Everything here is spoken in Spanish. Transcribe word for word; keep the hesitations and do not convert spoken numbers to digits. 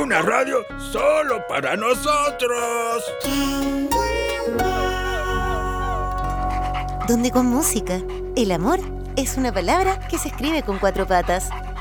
una radio solo para nosotros. Donde con música, el amor es una palabra que se escribe con cuatro patas.